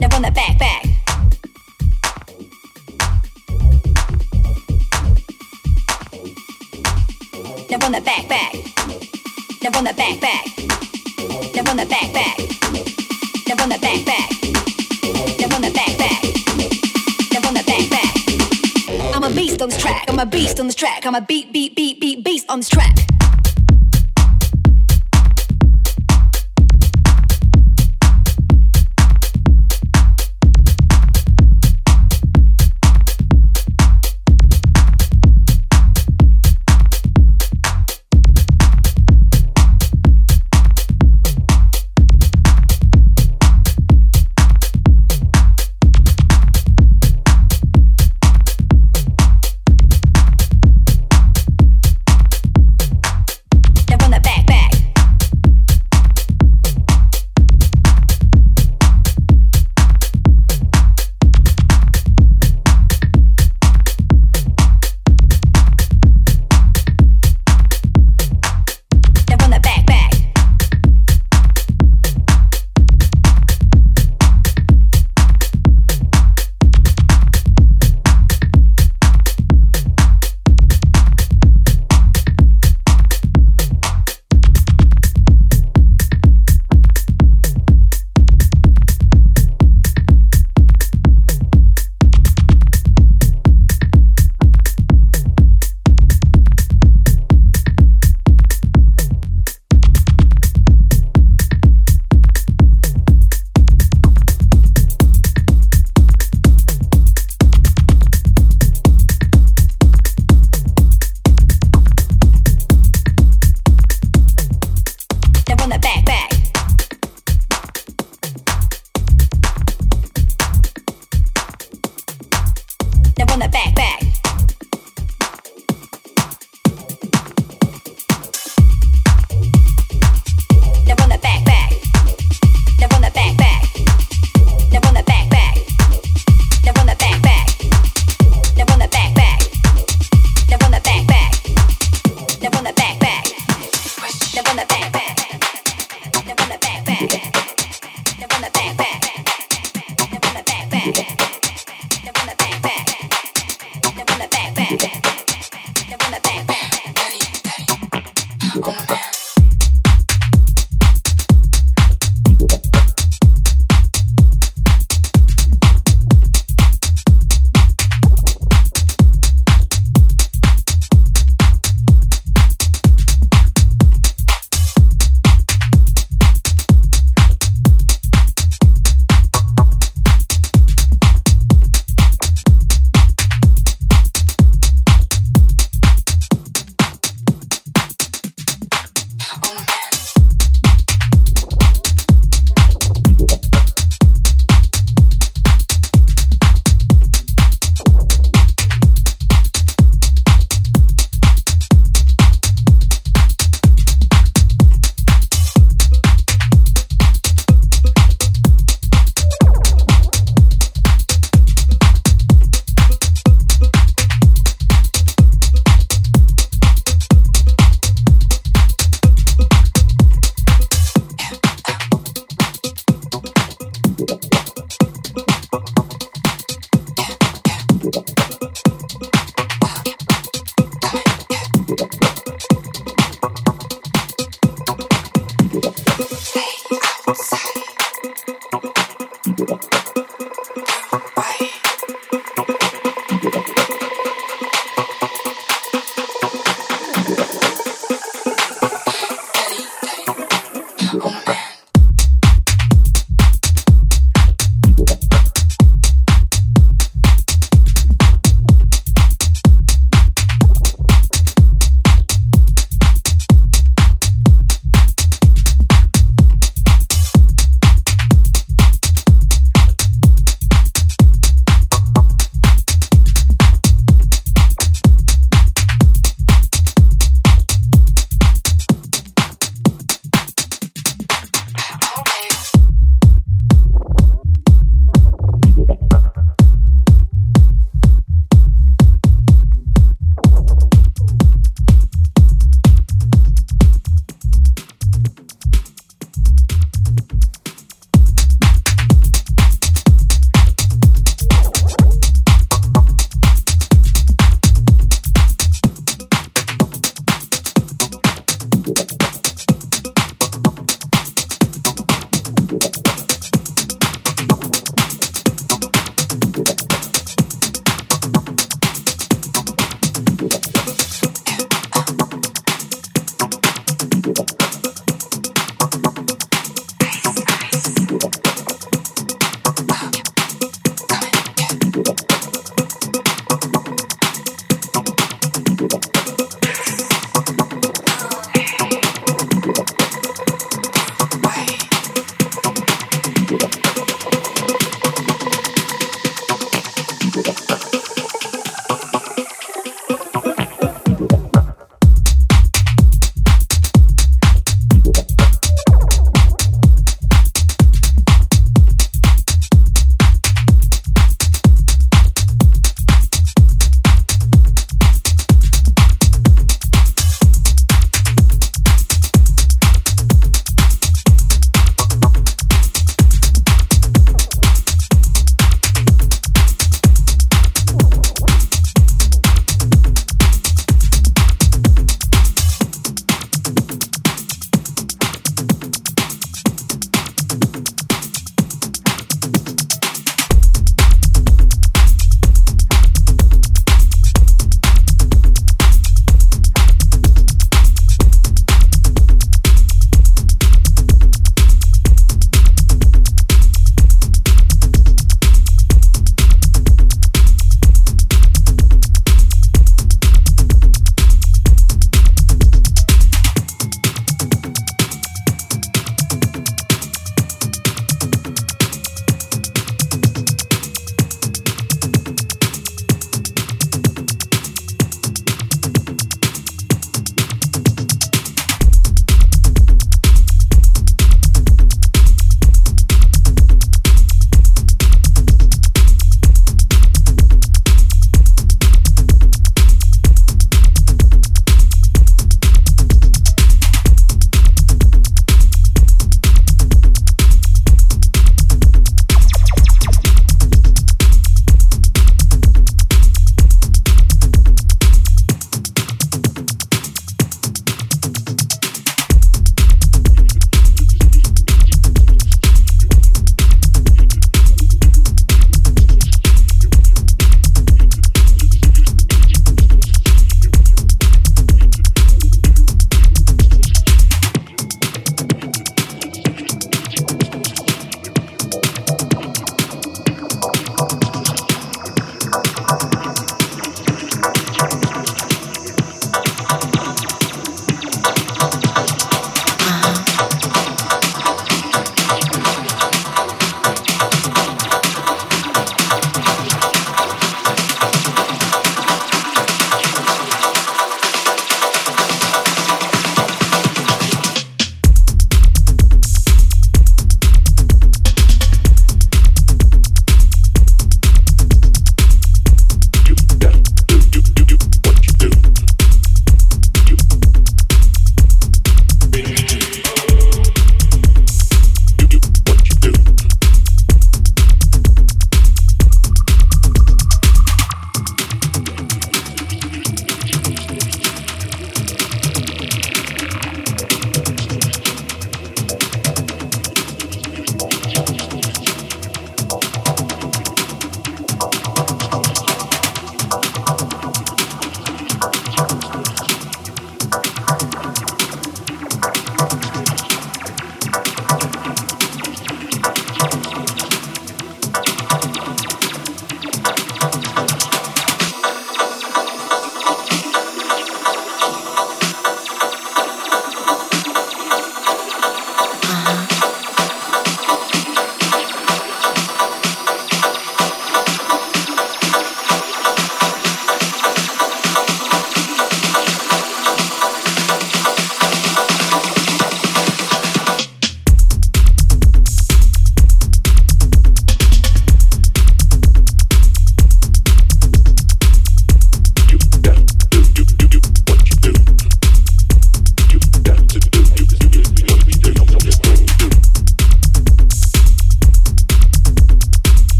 Now on the back, back. Now on the back, back. Now on the back, back. Now on the back, back. Now on the back, back. Now on the back, back. Now on the back, back. I'm a beast on this track. I'm a beast on this track. I'm a beast on this track.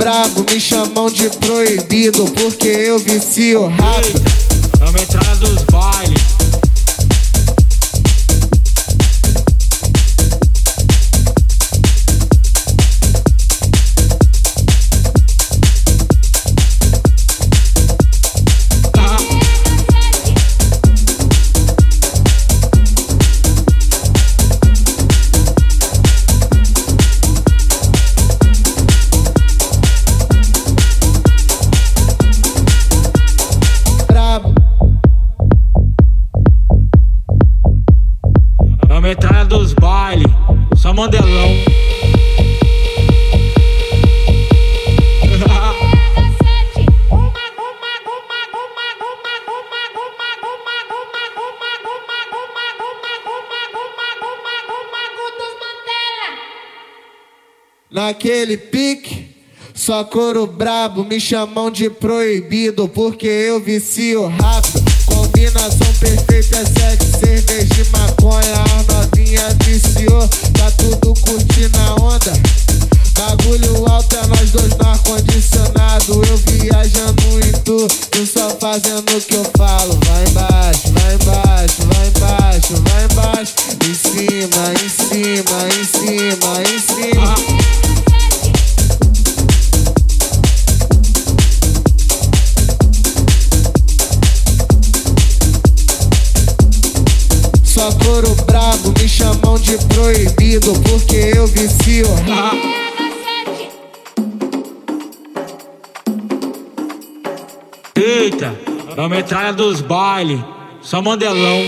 brabo, me chamam de proibido, porque eu vicio rápido. É a metralha dos bailes. Metralha dos bailes, só mandelão. Naquele pique, só couro brabo, me chamam de proibido, porque eu vicio rápido. Combinação perfeita é sexo, cerveja e maconha. A novinha viciou, tá tudo curtindo a onda. Bagulho alto é nós dois no ar-condicionado. Eu viajando em tu, tu só fazendo o que eu falo. Vai embaixo, vai embaixo, vai embaixo, vai embaixo. Em cima, em cima, em cima, em cima. Só couro brabo, me chamam de proibido, porque eu vicio. Eita, é a metralha dos bailes, só mandelão.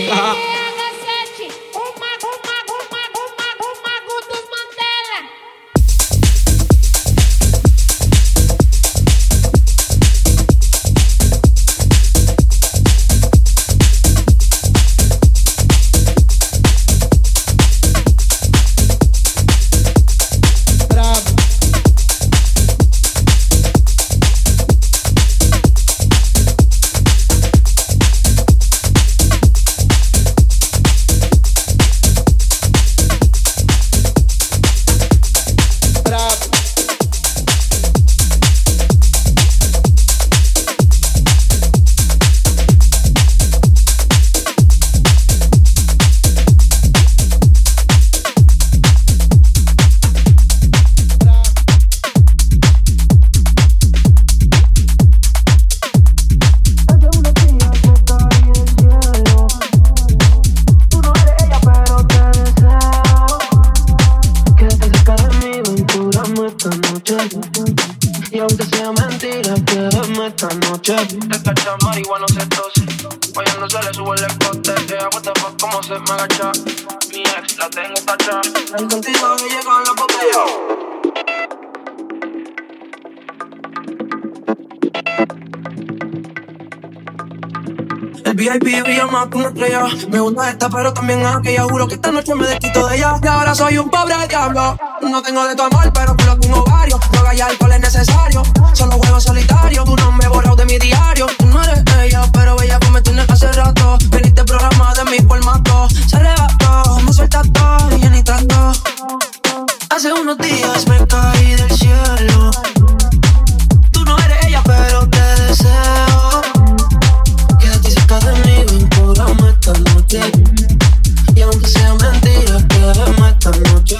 Y aunque sea mentira, quédame esta noche. Esta chama igual no se tose. Guayando se le sube el escote. What the fuck, cómo se me agacha. Mi ex la tengo tachada. El contigo que llega en la botella. El VIP brilla más que una estrella. Me gusta esta pero también aquella. Juro que esta noche me desquito de ella. Y ahora soy un pobre diablo. No tengo de tu amor pero culo tengo varios. Droga y alcohol es necesario. Solo juego solitario. Tu nombre borrado de mi diario. Tú no eres ella pero ella me tienes hace rato. Veniste programada de mi formato. Se arrebató, me suelta todo y ya ni trato. Hace unos días me caí del cielo. Tú no eres ella pero te deseo. De mí, ven, cóbrame esta noche. Y aunque sea mentira, quédame esta noche.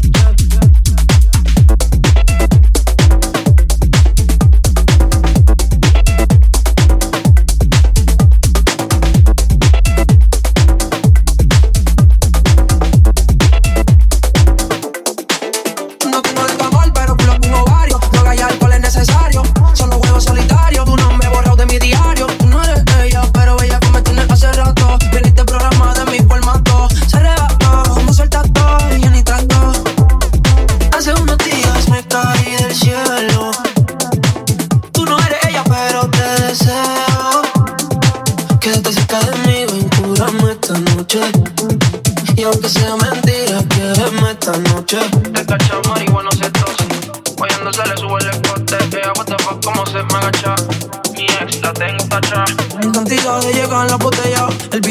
No tengo de tu amor, pero culo tengo varios. Droga y alcohol es necesario. Solo juego solitario. Tu nombre borrado de mi diario. Tú no eres ella, pero ella me tiene hace rato. Viniste programada de mi formato. Se arrebató, me suelta todo y ya ni trato. Hace unos días me caí del cielo. Tú no eres ella, pero te deseo. Quédate cerca de mí, ven, cúrame esta noche. Y aunque sea mentira, quédame esta noche. Esta chama igual no se tose. Guayando se le sube el escote. What the fuck, cómo se me agacha. Mi ex la tengo tachada. El contigo de llegar en la botella. El VIP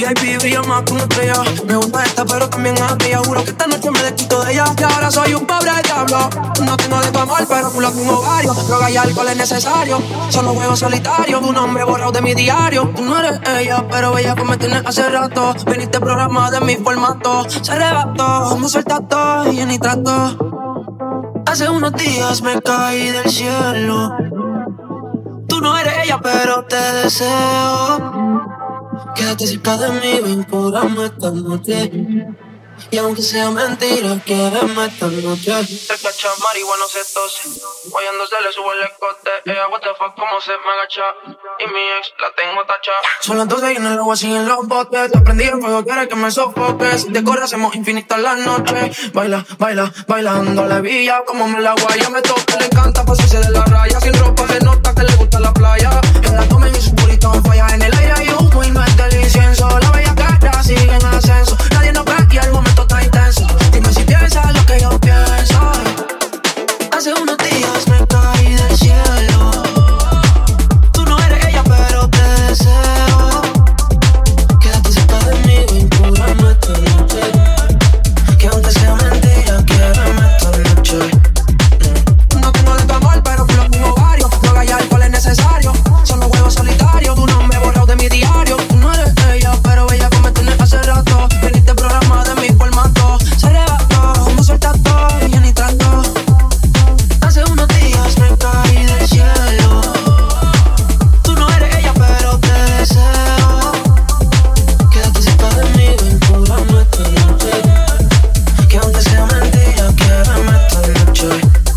VIP brilla más que una estrella. Me gusta esta pero también aquella. Juro que esta noche me desquito de ella. Y ahora soy un pobre diablo. No tengo de tu amor pero culo tengo varios. Droga y alcohol es necesario. Solo juego solitario. Tu nombre borrado de mi diario. Tú no eres ella pero bella como me tienes hace rato. Viniste programada en mi formato. Se arrebató, me suelta todo y ni trato. Hace unos días me caí del cielo. Tú no eres ella pero te deseo. Quédate cerca de mí, ven, curame esta noche. Y aunque sea mentira, quédame esta noche. Se cacha marihuana, se tose. Guayando se le sube el escote. Ella, what the fuck, cómo se me agacha. Y mi ex la tengo tacha. Son las 12 y en el agua sin en los botes. Te prendí en fuego, quieres que me sofoques. Si te corre, hacemos infinitas las noches. Baila, baila, bailando la villa. Como me la guaya, me toca, le encanta pasarse de la raya. Sin ropa se nota que le gusta la playa. En la toma y su purito falla. En el aire hay humo y no es del incienso. La bella cara sigue en ascenso. Nadie nos ve y el momento está intenso. Dime si piensas lo que yo pienso. Hace unos días me caí del cielo. Tú no eres ella pero te deseo. Quédate cerca de mí, ven, curame esta noche. Que aunque sea mentira, quédame esta noche. No tengo de tu amor pero culo tengo varios. Droga y alcohol es necesario. Solo juego solitario. Tu nombre borrado de mi diario. Tú no eres ella pero bella como me tienes hace rato. Viniste programada en mi formato. Se arrebató, me suelta todo y ya ni trato. Hace unos días me caí del cielo. Tú no eres ella pero te deseo. Quédate cerca de mí, ven, curame esta noche. Que aunque sea mentira, quédame esta noche.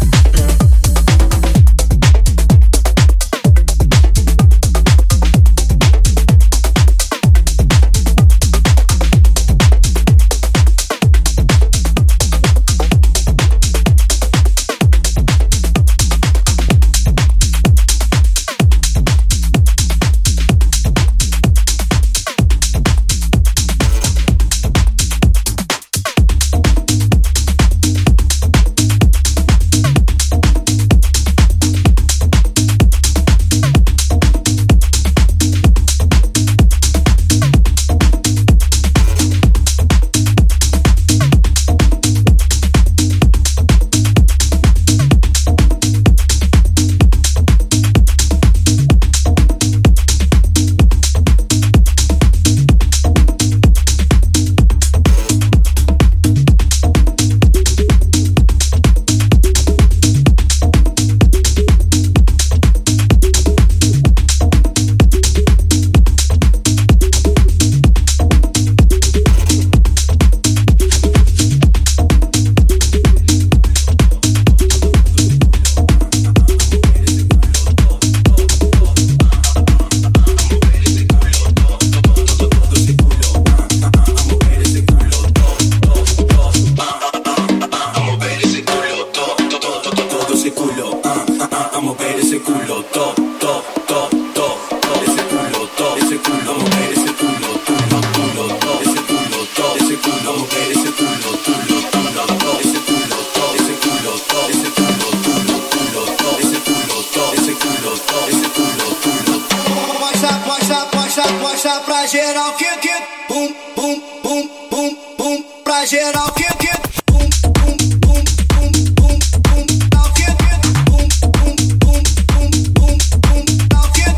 Mostra pra geral que bum, bum, bum, bum, bum. Pra geral que bum, bum, bum, bum, bum, bum. Dá o que bum, bum, bum, bum, bum, bum. Dá o que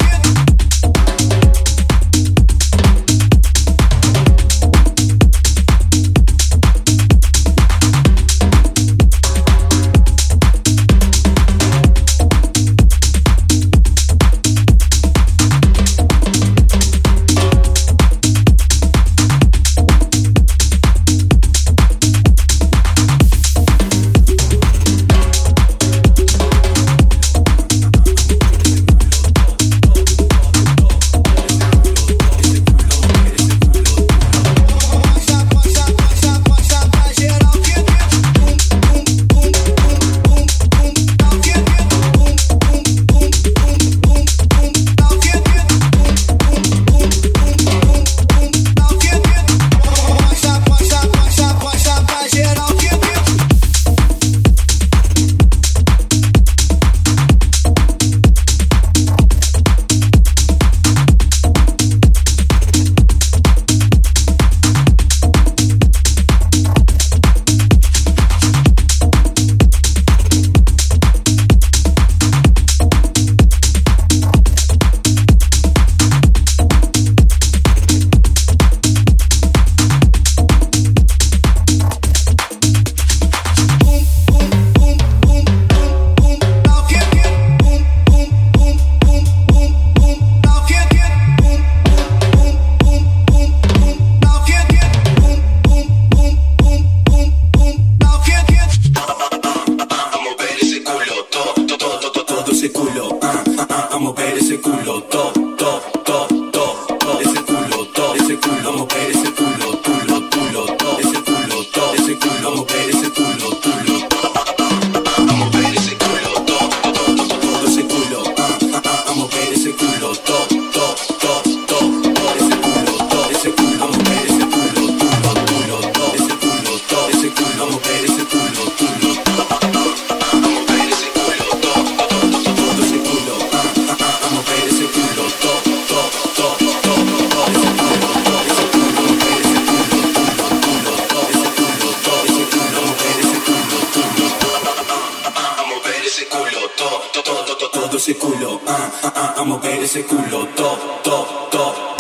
a mover esse culo, to.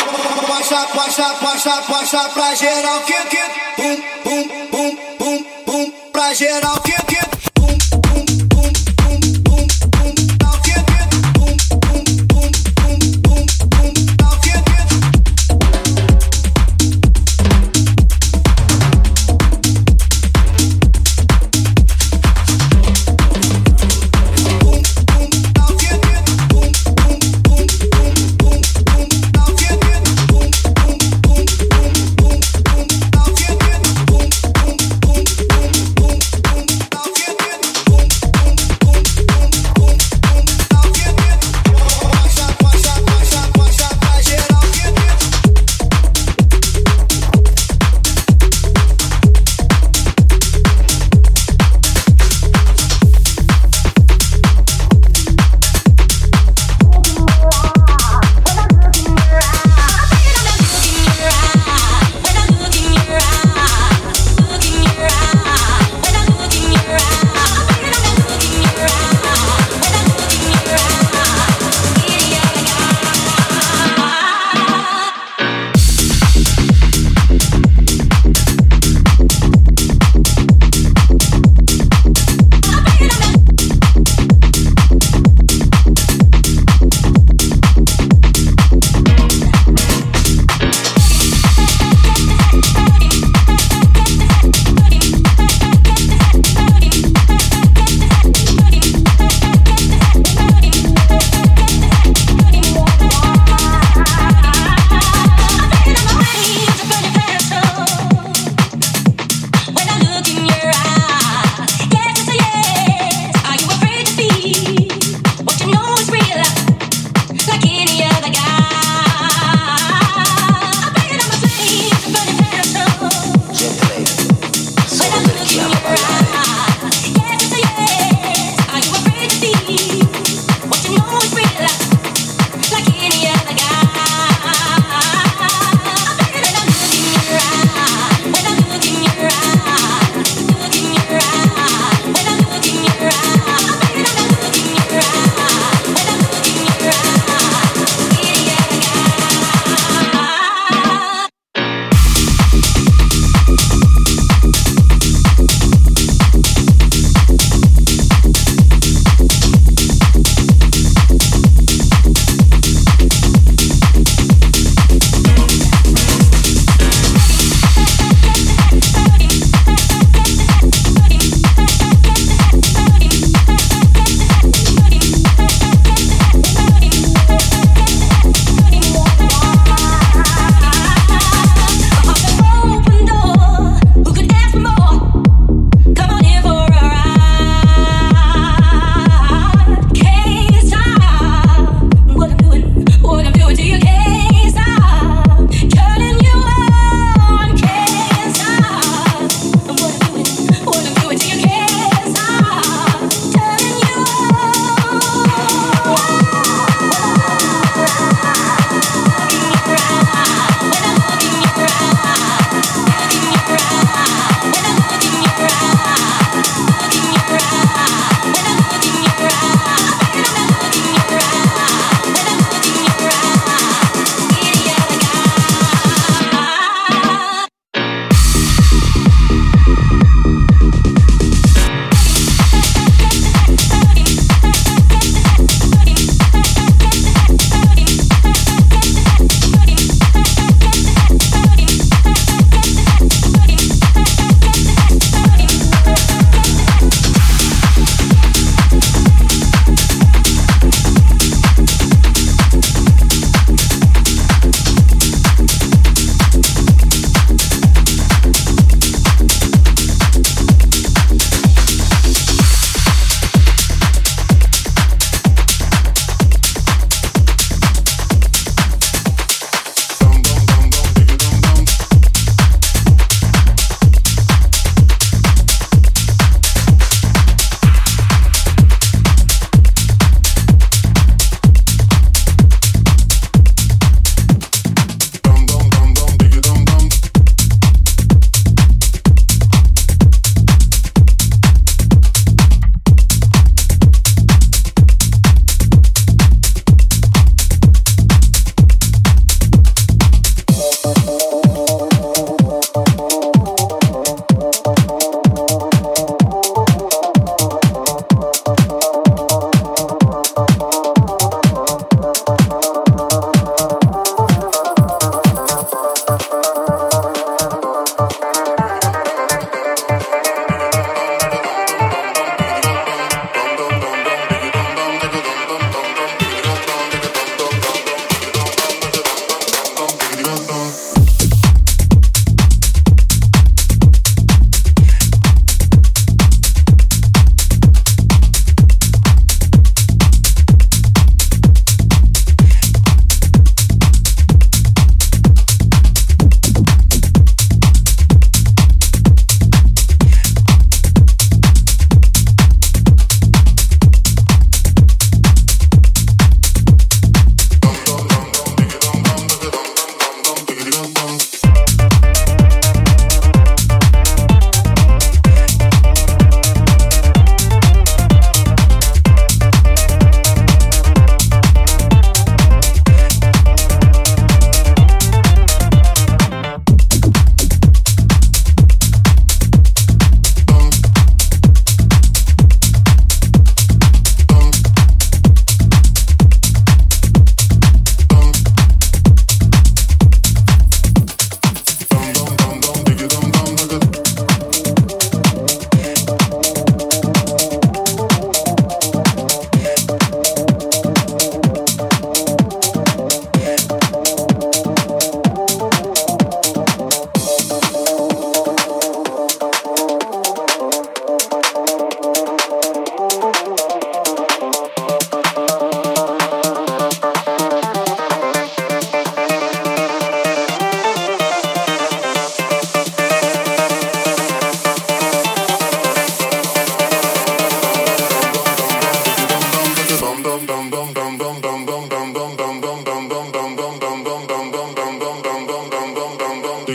Mostra pra geral que bum, bum, bum, bum, bum, pra geral que bum, bum, bum, bum, bum, bum, dá o que bum, bum, bum, bum, bum, bum, dá o que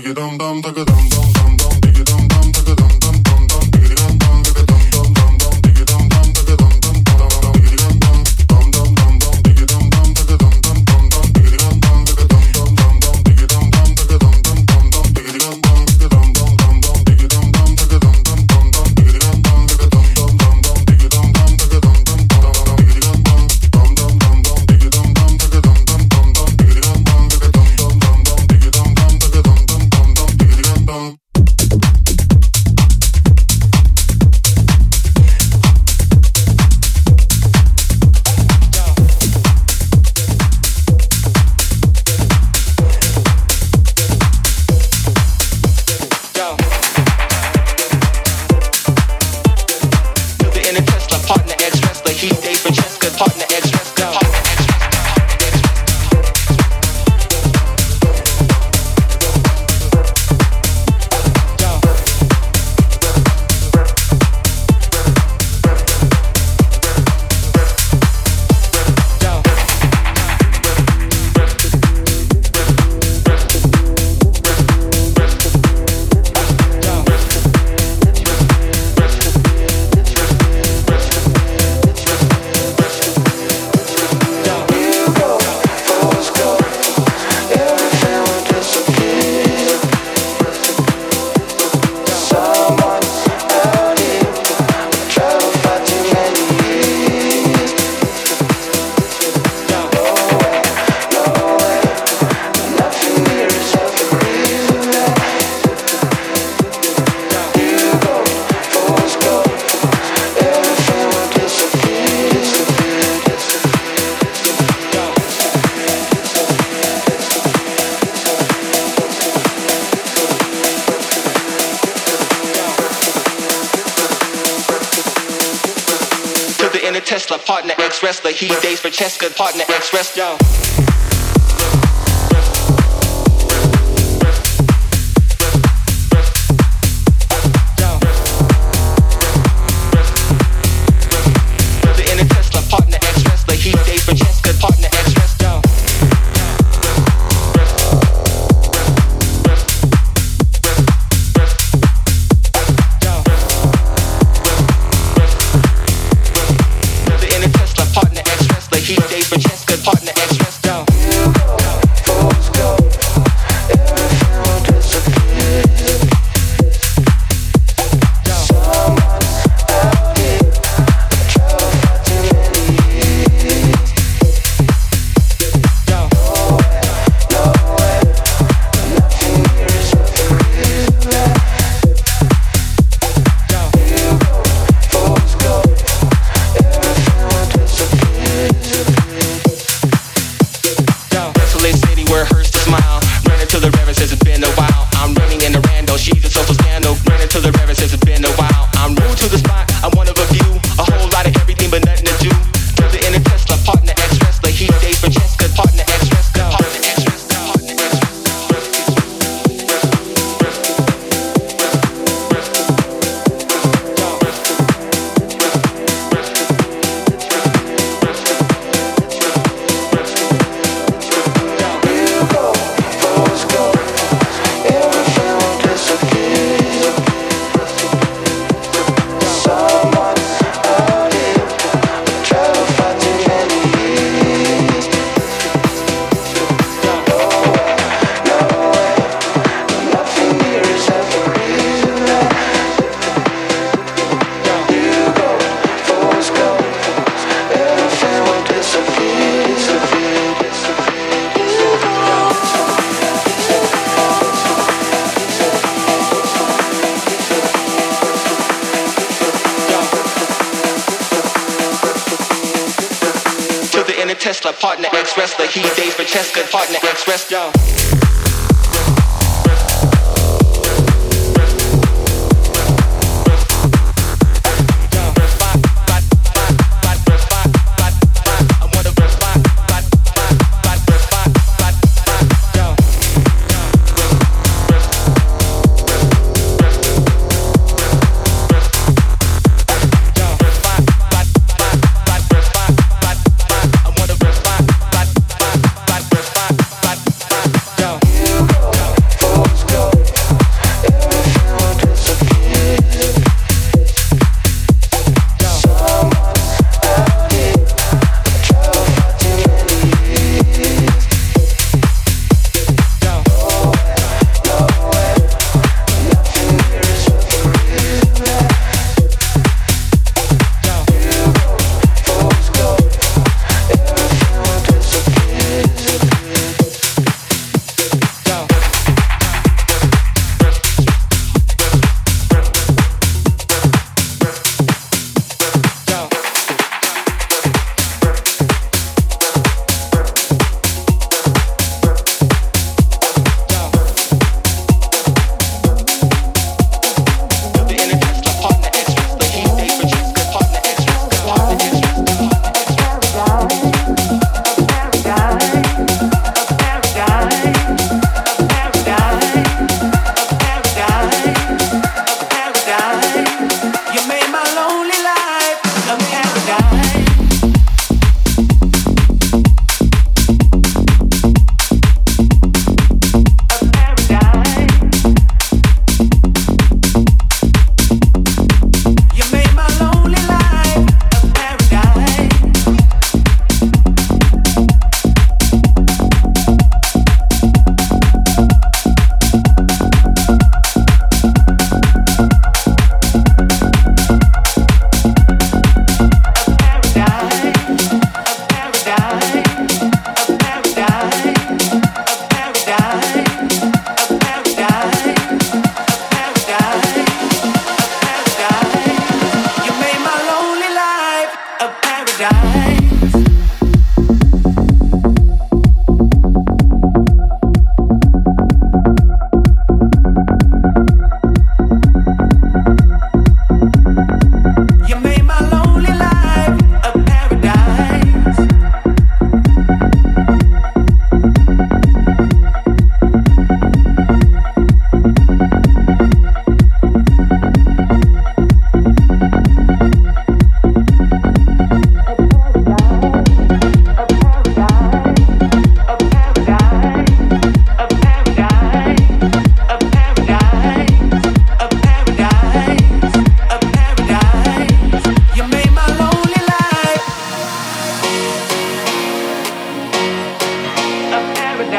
Tesla, partner ex-wrestler. He days for Cheska, partner ex-wrestler. Tesla, partner ex-wrestler. He days for Cheska, partner ex-wrestler.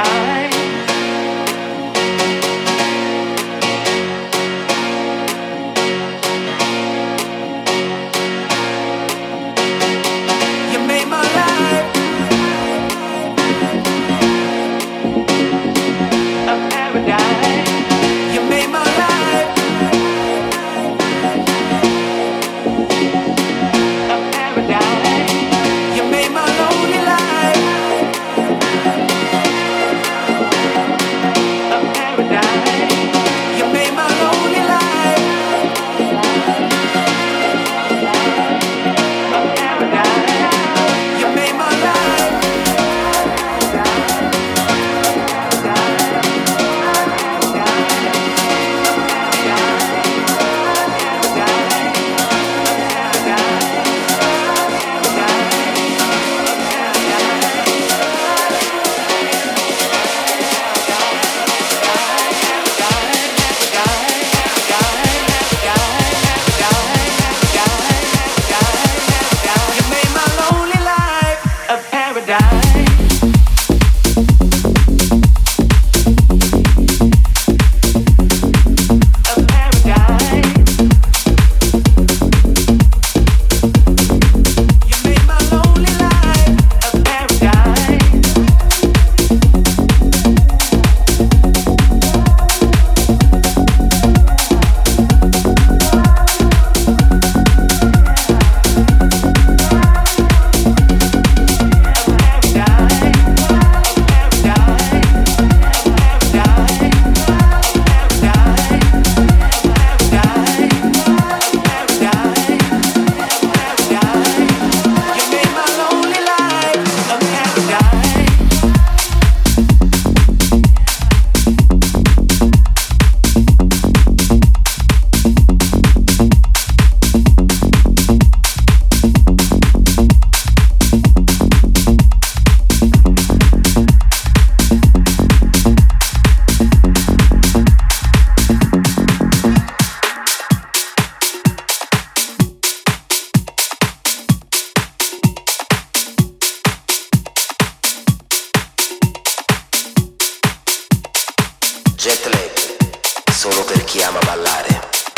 Jet lag, solo per chi ama ballare.